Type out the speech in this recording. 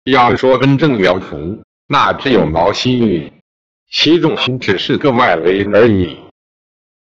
要说真正了服，那只有毛希玉，习仲勋只是个外围而已。